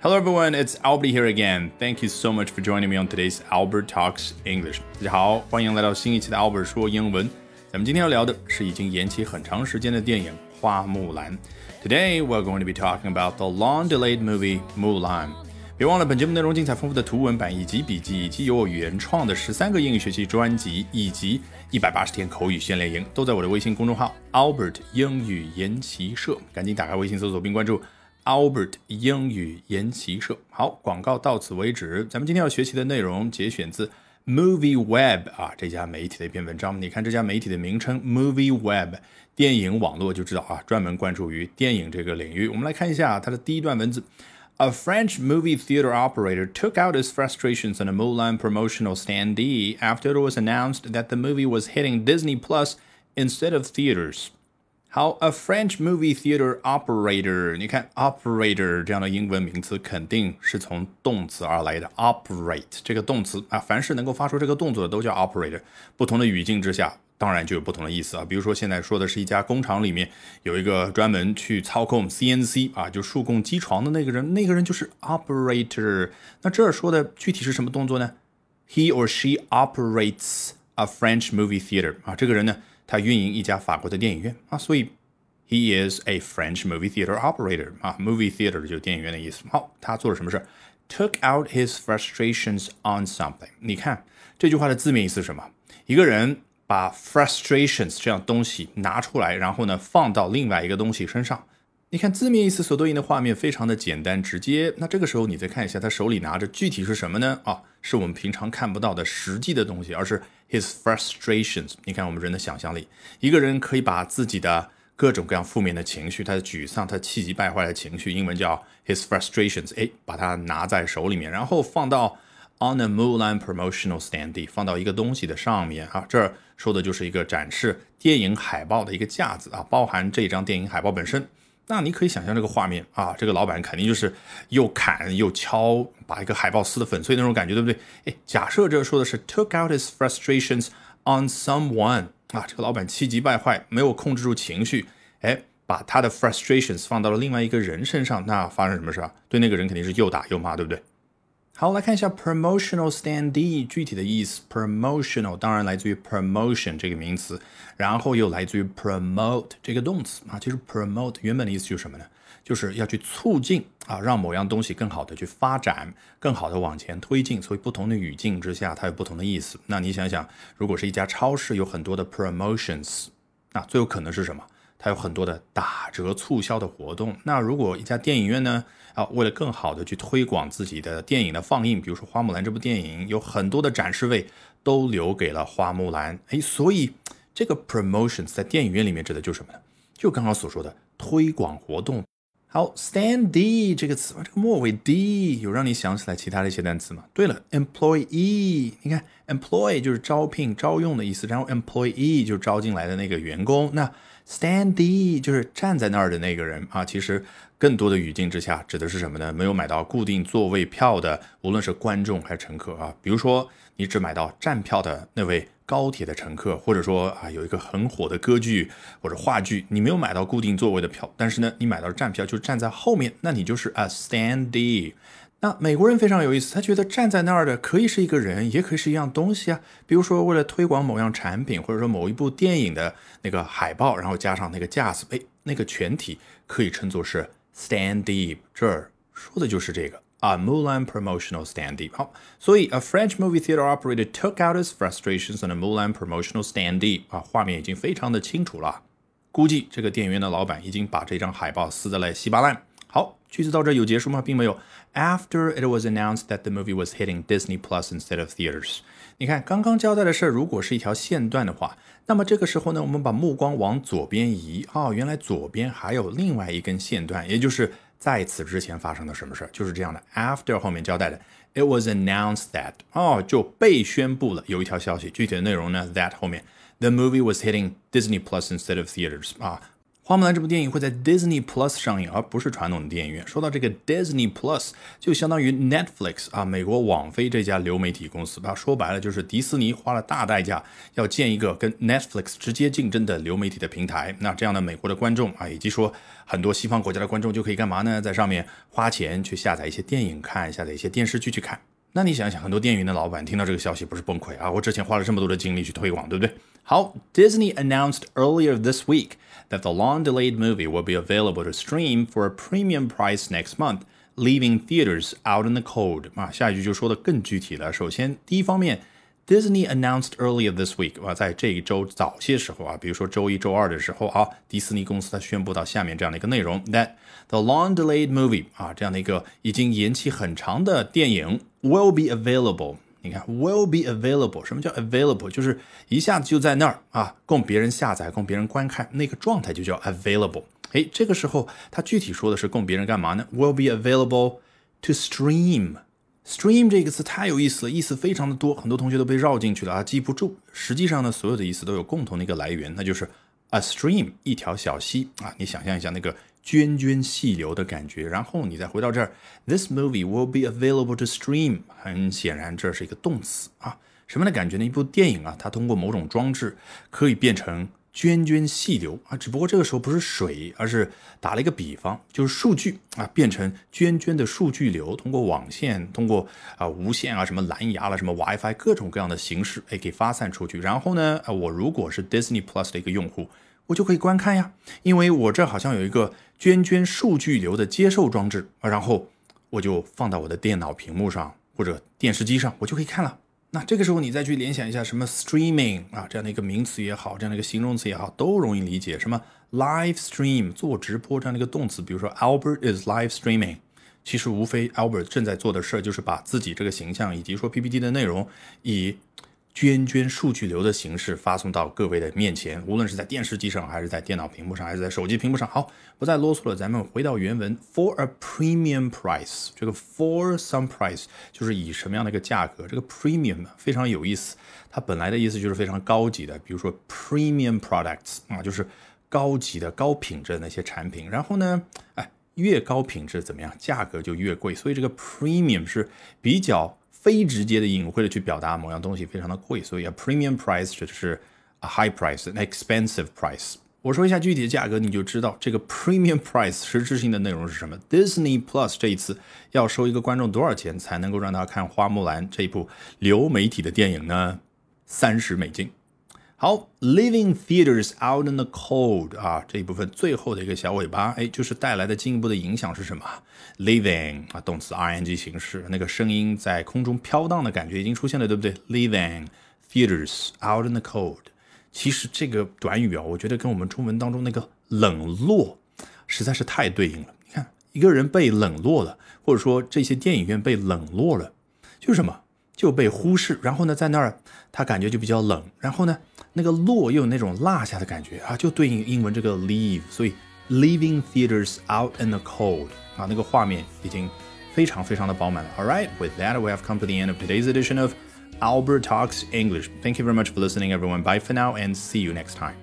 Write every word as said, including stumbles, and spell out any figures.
Hello everyone, it's Albert here again. Thank you so much for joining me on today's Albert Talks English. 大家好，欢迎来到新一期的 Albert 说英文。咱们今天要聊的是已经延期很长时间的电影《花木兰》。Today we're going to be talking about the long-delayed movie Mulan. 别忘了，本节目内容精彩丰富的图文版以及笔记，以及由我原创的十三个英语学习专辑，以及一百八十天口语训练营，都在我的微信公众号 Albert 英语研习社。赶紧打开微信搜索并关注Albert 英语研习社。好，广告到此为止。咱们今天要学习的内容节选自 Movie Web 啊，这家媒体的一篇文章。你看这家媒体的名称 Movie Web 电影网络就知道啊，专门关注于电影这个领域。我们来看一下它的第一段文字。A French movie theater operator took out his frustrations on a Mulan promotional standee after it was announced that the movie was hitting Disney Plus instead of theaters.好 ，a French movie theater operator， 你看 operator 这样的英文名词肯定是从动词而来的 ，operate 这个动词啊，凡是能够发出这个动作的都叫 operator。不同的语境之下，当然就有不同的意思啊。比如说现在说的是一家工厂里面有一个专门去操控 C N C 啊，就数控机床的那个人，那个人就是 operator。那这儿说的具体是什么动作呢 ？He or she operates a French movie theater 啊，这个人呢？他运营一家法国的电影院啊，所以 he is a French movie theater operator 啊 ，movie theater 就是电影院的意思。好，他做了什么事 ？Took out his frustrations on something。你看这句话的字面意思是什么？一个人把 frustrations 这样东西拿出来，然后呢放到另外一个东西身上。你看字面意思所对应的画面非常的简单直接。那这个时候你再看一下他手里拿着具体是什么呢？啊，是我们平常看不到的实际的东西，而是 his frustrations。你看我们人的想象力，一个人可以把自己的各种各样负面的情绪，他的沮丧，他气急败坏的情绪，英文叫 his frustrations， 哎，把它拿在手里面，然后放到 on a Mulan promotional standee， 放到一个东西的上面啊。这儿说的就是一个展示电影海报的一个架子啊，包含这张电影海报本身。那你可以想象这个画面啊，这个老板肯定就是又砍又敲，把一个海报撕得粉碎那种感觉，对不对？哎，假设这说的是 took out his frustrations on someone 啊，这个老板气急败坏，没有控制住情绪，哎，把他的 frustrations 放到了另外一个人身上，那发生什么事啊？对那个人肯定是又打又骂，对不对？好，来看一下 promotional standee 具体的意思。promotional 当然来自于 promotion 这个名词，然后又来自于 promote 这个动词啊。其实 promote 原本的意思就是什么呢？就是要去促进啊，让某样东西更好的去发展，更好的往前推进。所以不同的语境之下，它有不同的意思。那你想想，如果是一家超市有很多的 promotions， 那最有可能是什么？它有很多的打折促销的活动。那如果一家电影院呢，啊，为了更好的去推广自己的电影的放映，比如说花木兰这部电影，有很多的展示位都留给了花木兰。诶，所以这个 promotions 在电影院里面指的就是什么呢？就刚刚所说的推广活动。好 standee 这个词，这个末尾 d 有让你想起来其他的一些单词吗？对了 employee， 你看 employ 就是招聘招用的意思，然后 employee 就是招进来的那个员工，那standee 就是站在那儿的那个人啊。其实更多的语境之下指的是什么呢？没有买到固定座位票的，无论是观众还是乘客啊。比如说你只买到站票的那位高铁的乘客，或者说啊有一个很火的歌剧或者话剧，你没有买到固定座位的票，但是呢你买到站票就站在后面，那你就是 a standee。那美国人非常有意思，他觉得站在那儿的可以是一个人，也可以是一样东西啊。比如说为了推广某样产品，或者说某一部电影的那个海报，然后加上那个架子，哎，那个全体可以称作是 standee。这儿说的就是这个啊 Mulan promotional standee。好，所以 a French movie theater operator took out his frustrations on a Mulan promotional standee。啊，画面已经非常的清楚了，估计这个电影院的老板已经把这张海报撕得来稀巴烂。好，句子到这有结束吗？并没有。After it was announced that the movie was hitting Disney Plus instead of theaters。你看，刚刚交代的事如果是一条线段的话，那么这个时候呢，我们把目光往左边移，哦，原来左边还有另外一根线段，也就是在此之前发生的什么事，就是这样的。After 后面交代的 ，it was announced that， 哦，就被宣布了有一条消息，具体的内容呢 ，that 后面 the movie was hitting Disney Plus instead of theaters 啊。 花木兰这部电影会在 Disney Plus 上映，而不是传统的电影院。说到这个 Disney Plus， 就相当于 Netflix 啊，美国网飞这家流媒体公司吧。说白了就是迪士尼花了大代价要建一个跟 Netflix 直接竞争的流媒体的平台。那这样的美国的观众啊，以及说很多西方国家的观众就可以干嘛呢？在上面花钱去下载一些电影看，下载一些电视剧去看。那你想想，很多电影院的老板听到这个消息不是崩溃啊？我之前花了这么多的精力去推广，对不对？好 ，Disney announced earlier this week that the long-delayed movie will be available to stream for a premium price next month, leaving theaters out in the cold. 啊，下一句就说的更具体了。首先，第一方面 ，Disney announced earlier this week 啊，在这一周早些时候啊，比如说周一周二的时候啊，迪士尼公司它宣布到下面这样的一个内容 that the long-delayed movie 啊，这样的一个已经延期很长的电影 will be available。你看 will be available， 什么叫 available？ 就是一下子就在那儿啊，供别人下载，供别人观看，那个状态就叫 available。诶，这个时候它具体说的是供别人干嘛呢？ will be available to stream。stream 这个词太有意思了，意思非常的多，很多同学都被绕进去了啊，记不住。实际上呢，所有的意思都有共同的一个来源，那就是 a stream， 一条小溪啊。你想象一下那个涓涓细流的感觉，然后你再回到这儿 ，This movie will be available to stream。很显然，这是一个动词啊。什么样的感觉呢？一部电影啊，它通过某种装置可以变成涓涓细流啊，只不过这个时候不是水，而是打了一个比方，就是数据啊，变成涓涓的数据流，通过网线，通过啊无线啊，什么蓝牙了，什么 WiFi， 各种各样的形式，哎，给发散出去。然后呢，我如果是 Disney Plus 的一个用户，我就可以观看呀，因为我这好像有一个涓涓数据流的接受装置，然后我就放到我的电脑屏幕上或者电视机上，我就可以看了。那这个时候你再去联想一下什么 streaming 啊，这样的一个名词也好，这样的一个形容词也好，都容易理解。什么 live stream 做直播这样的一个动词，比如说 Albert is live streaming， 其实无非 Albert 正在做的事就是把自己这个形象以及说 P P T 的内容以涓涓数据流的形式发送到各位的面前，无论是在电视机上还是在电脑屏幕上还是在手机屏幕上。好，不再啰嗦了，咱们回到原文 for a premium price， 这个 for some price 就是以什么样的一个价格，这个 premium 非常有意思，它本来的意思就是非常高级的，比如说 premium products 啊，就是高级的高品质的那些产品，然后呢哎，越高品质怎么样，价格就越贵，所以这个 premium 是比较非直接的隐晦的去表达某样东西非常的贵，所以 a premium price 指的是 a high price an expensive price。 我说一下具体的价格，你就知道这个 premium price 实质性的内容是什么。 Disney Plus 这一次要收一个观众多少钱才能够让他看花木兰这部流媒体的电影呢？三十美金。好 ，leaving theaters out in the cold 啊，这一部分最后的一个小尾巴，哎，就是带来的进一步的影响是什么 ？leaving 啊，动词 ing 形式，那个声音在空中飘荡的感觉已经出现了，对不对 ？leaving theaters out in the cold， 其实这个短语啊，我觉得跟我们中文当中那个冷落实在是太对应了。你看，一个人被冷落了，或者说这些电影院被冷落了，就是什么？就被忽视，然后呢，在那儿他感觉就比较冷，然后呢，那个落又有那种落下的感觉啊，就对应英文这个 leave， 所以 leaving theaters out in the cold 啊，那个画面已经非常非常的饱满了。All right, with that, we have come to the end of today's edition of Albert Talks English. Thank you very much for listening, everyone. Bye for now, and see you next time.